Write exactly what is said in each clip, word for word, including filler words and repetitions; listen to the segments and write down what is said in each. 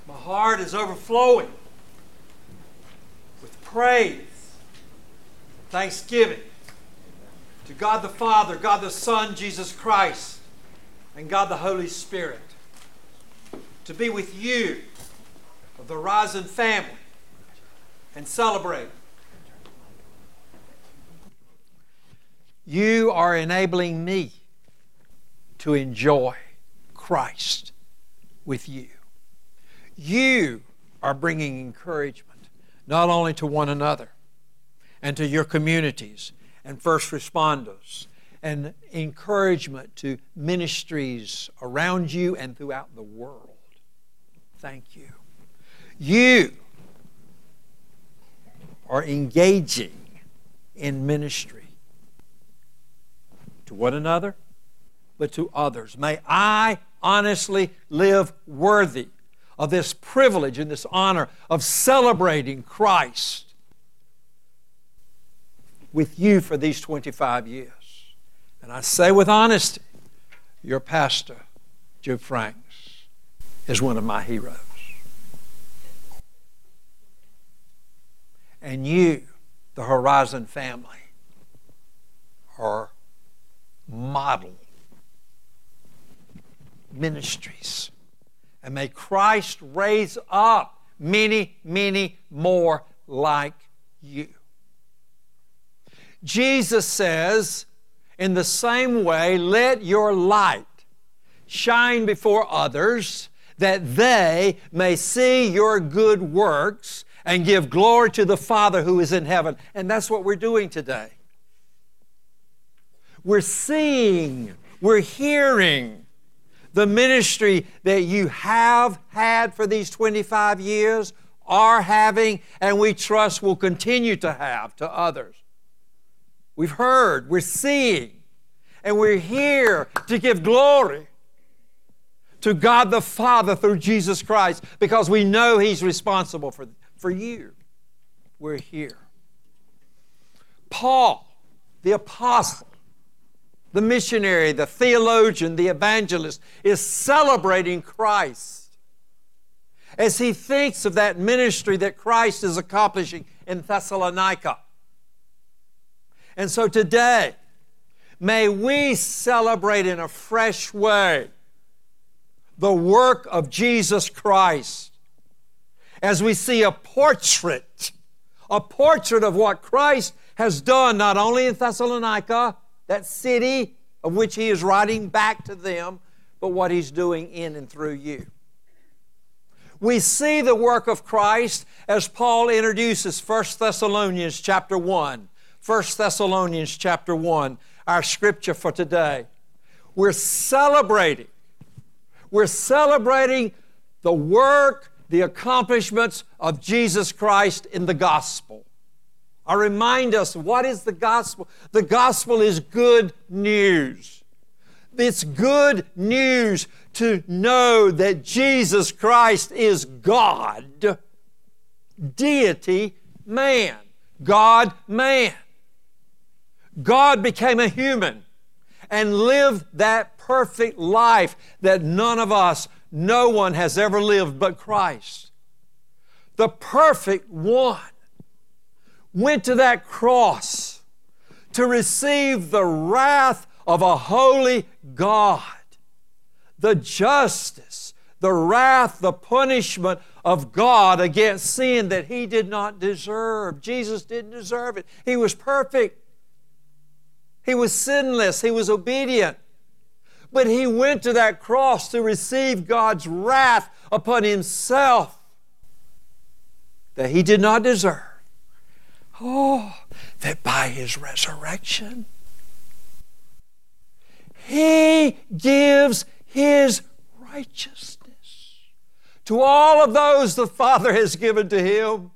My heart is overflowing with praise, thanksgiving to God the Father, God the Son, Jesus Christ, and God the Holy Spirit, to be with you of the Horizon family and celebrate. You are enabling me to enjoy Christ with you. You are bringing encouragement not only to one another and to your communities and first responders, and encouragement to ministries around you and throughout the world. Thank you. You are engaging in ministry to one another, but to others. May I honestly live worthy of this privilege and this honor of celebrating Christ with you for these twenty-five years. And I say with honesty, your pastor, Joe Franks, is one of my heroes. And you, the Horizon family, are model ministries. And may Christ raise up many, many more like you. Jesus says, in the same way, let your light shine before others, that they may see your good works and give glory to the Father who is in heaven. And that's what we're doing today. We're seeing, we're hearing the ministry that you have had for these twenty-five years, are having, and we trust will continue to have to others. We've heard, we're seeing, and we're here to give glory to God the Father through Jesus Christ, because we know He's responsible for, for you. We're here. Paul, the apostle, the missionary, the theologian, the evangelist, is celebrating Christ as he thinks of that ministry that Christ is accomplishing in Thessalonica. And so today, may we celebrate in a fresh way the work of Jesus Christ as we see a portrait, a portrait of what Christ has done not only in Thessalonica, that city of which He is writing back to them, but what He's doing in and through you. We see the work of Christ as Paul introduces First Thessalonians chapter one. First Thessalonians chapter one, our scripture for today. We're celebrating. We're celebrating the work, the accomplishments of Jesus Christ in the gospel. I remind us, what is the gospel? The gospel is good news. It's good news to know that Jesus Christ is God, deity, man, God, man. God became a human and lived that perfect life that none of us, no one has ever lived but Christ. The perfect one went to that cross to receive the wrath of a holy God, the justice, the wrath, the punishment of God against sin that He did not deserve. Jesus didn't deserve it. He was perfect. He was sinless. He was obedient. But He went to that cross to receive God's wrath upon Himself that He did not deserve. Oh, that by His resurrection, He gives His righteousness to all of those the Father has given to Him.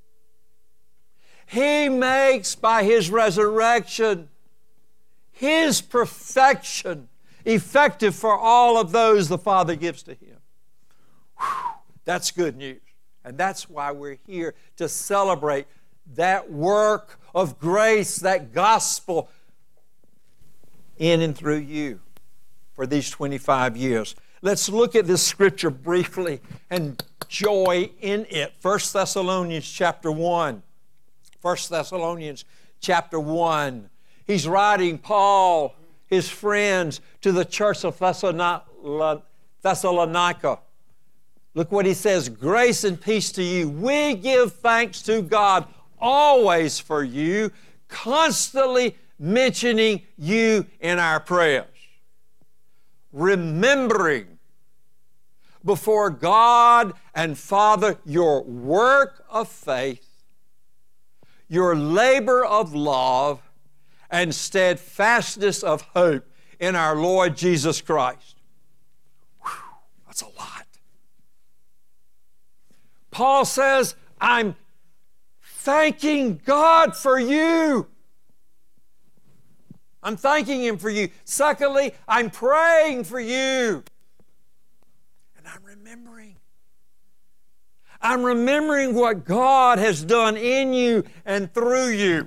He makes by His resurrection His perfection effective for all of those the Father gives to Him. Whew, that's good news. And that's why we're here to celebrate that work of grace, that gospel in and through you for these twenty-five years. Let's look at this scripture briefly and joy in it. First Thessalonians chapter one. First Thessalonians chapter one. He's writing, Paul, his friends, to the church of Thessalonica. Look what he says, grace and peace to you. We give thanks to God always for you, constantly mentioning you in our prayers, remembering before God and Father your work of faith, your labor of love, and steadfastness of hope in our Lord Jesus Christ. Whew, that's a lot. Paul says, I'm thanking God for you. I'm thanking Him for you. Secondly, I'm praying for you. And I'm remembering. I'm remembering what God has done in you and through you.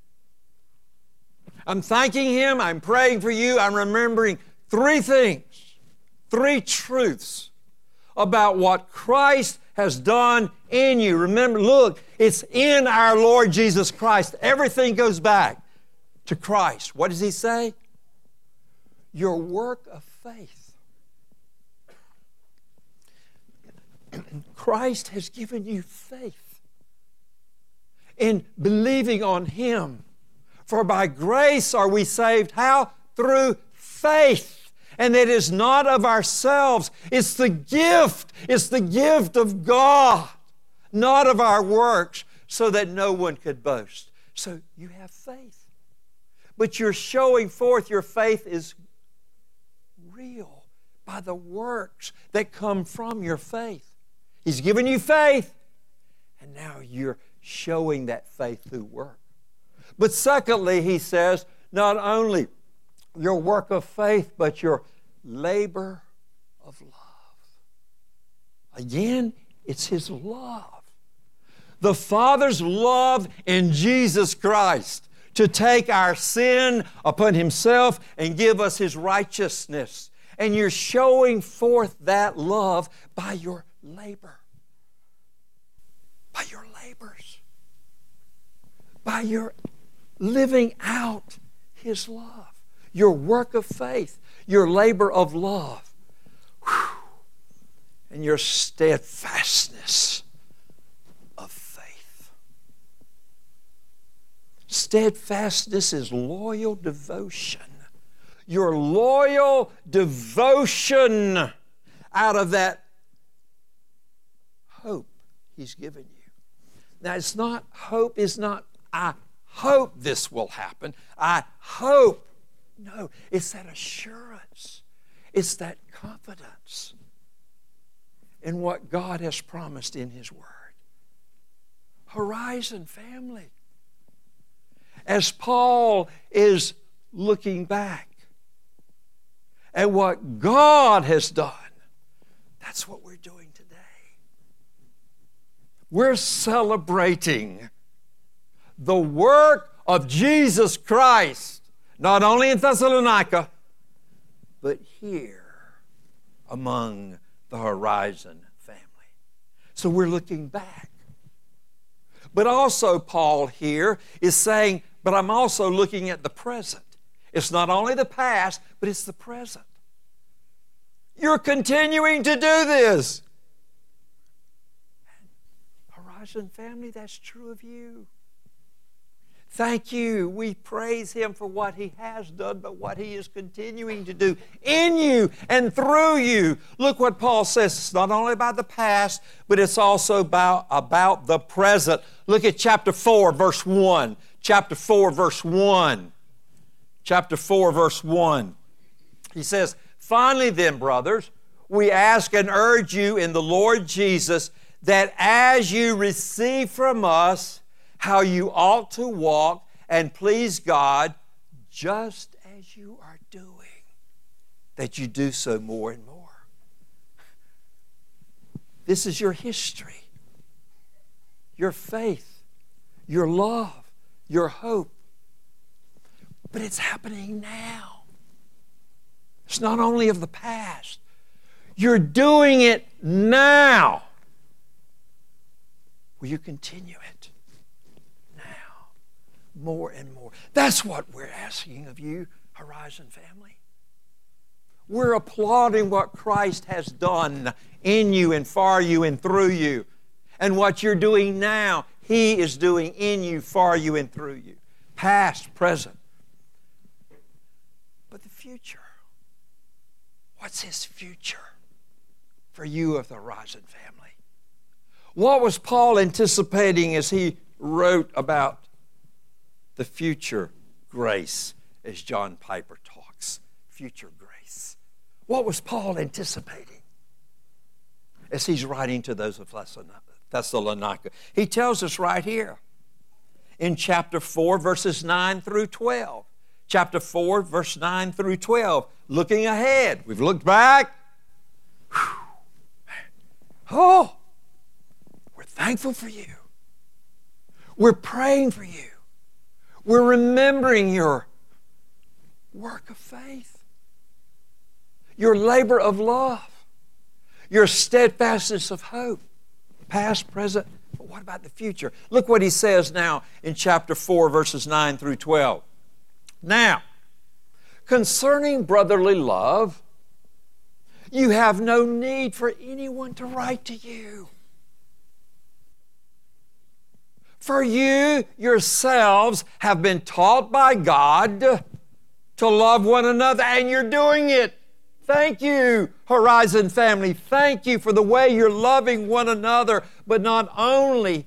I'm thanking Him. I'm praying for you. I'm remembering three things, three truths about what Christ has done in you. Remember, look, it's in our Lord Jesus Christ. Everything goes back to Christ. What does He say? Your work of faith. Christ has given you faith in believing on Him. For by grace are we saved. How? Through faith. And it is not of ourselves. It's the gift. It's the gift of God, not of our works, so that no one could boast. So you have faith. But you're showing forth your faith is real by the works that come from your faith. He's given you faith, and now you're showing that faith through work. But secondly, he says, not only your work of faith, but your labor of love. Again, it's His love. The Father's love in Jesus Christ to take our sin upon Himself and give us His righteousness. And you're showing forth that love by your labor. By your labors. By your living out His love. Your work of faith, your labor of love, whew, and your steadfastness of faith. Steadfastness is loyal devotion. Your loyal devotion out of that hope He's given you. Now, it's not, hope is not, I hope this will happen. I hope. No, it's that assurance. It's that confidence in what God has promised in His Word. Horizon family. As Paul is looking back at what God has done, that's what we're doing today. We're celebrating the work of Jesus Christ, not only in Thessalonica, but here among the Horizon family. So we're looking back. But also Paul here is saying, but I'm also looking at the present. It's not only the past, but it's the present. You're continuing to do this. Horizon family, that's true of you. Thank you. We praise Him for what He has done, but what He is continuing to do in you and through you. Look what Paul says. It's not only about the past, but it's also about, about the present. Look at chapter four, verse one. Chapter four, verse one. Chapter four, verse one. He says, finally then, brothers, we ask and urge you in the Lord Jesus that as you receive from us how you ought to walk and please God, just as you are doing, that you do so more and more. This is your history, your faith, your love, your hope. But it's happening now. It's not only of the past. You're doing it now. Will you continue it now? More and more. That's what we're asking of you, Horizon family. We're applauding what Christ has done in you and for you and through you. And what you're doing now, He is doing in you, for you, and through you. Past, present. But the future. What's His future for you of the Horizon family? What was Paul anticipating as he wrote about the future grace, as John Piper talks? Future grace. What was Paul anticipating as he's writing to those of Thessalonica? He tells us right here in chapter four, verses nine through twelve. Chapter four, verse nine through twelve. Looking ahead. We've looked back. Whew. Oh, we're thankful for you. We're praying for you. We're remembering your work of faith, your labor of love, your steadfastness of hope, past, present, but what about the future? Look what he says now in chapter four, verses nine through twelve. Now, concerning brotherly love, you have no need for anyone to write to you. For you yourselves have been taught by God to love one another, and you're doing it. Thank you, Horizon family. Thank you for the way you're loving one another, but not only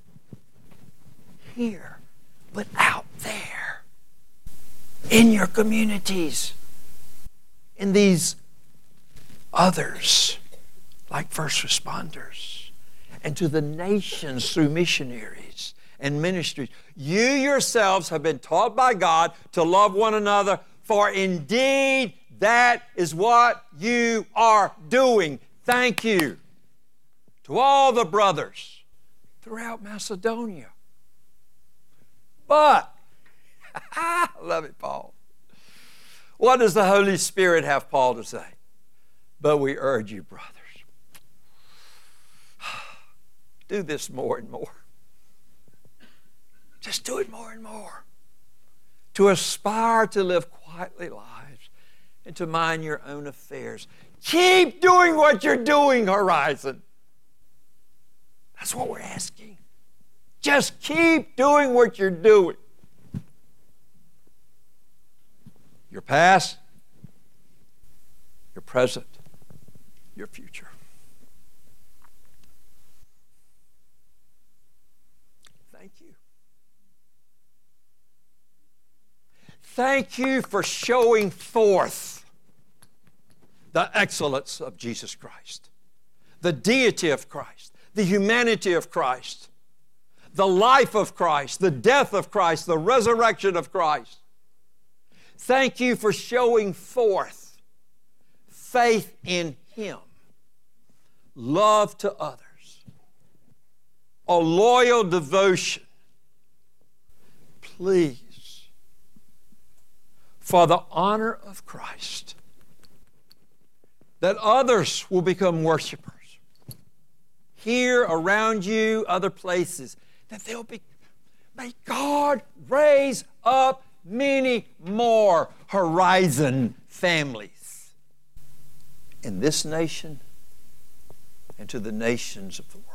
here, but out there, in your communities, in these others, like first responders, and to the nations through missionaries and ministries. You yourselves have been taught by God to love one another, for indeed that is what you are doing. Thank you to all the brothers throughout Macedonia. But, I love it, Paul. What does the Holy Spirit have Paul to say? But we urge you, brothers, do this more and more. Just do it more and more. To aspire to live quietly lives and to mind your own affairs. Keep doing what you're doing, Horizon. That's what we're asking. Just keep doing what you're doing. Your past, your present, your future. Thank you. Thank you for showing forth the excellence of Jesus Christ, the deity of Christ, the humanity of Christ, the life of Christ, the death of Christ, the resurrection of Christ. Thank you for showing forth faith in Him, love to others, a loyal devotion. Please, for the honor of Christ, that others will become worshipers. Here, around you, other places, that they'll be, may God raise up many more Horizon families in this nation and to the nations of the world.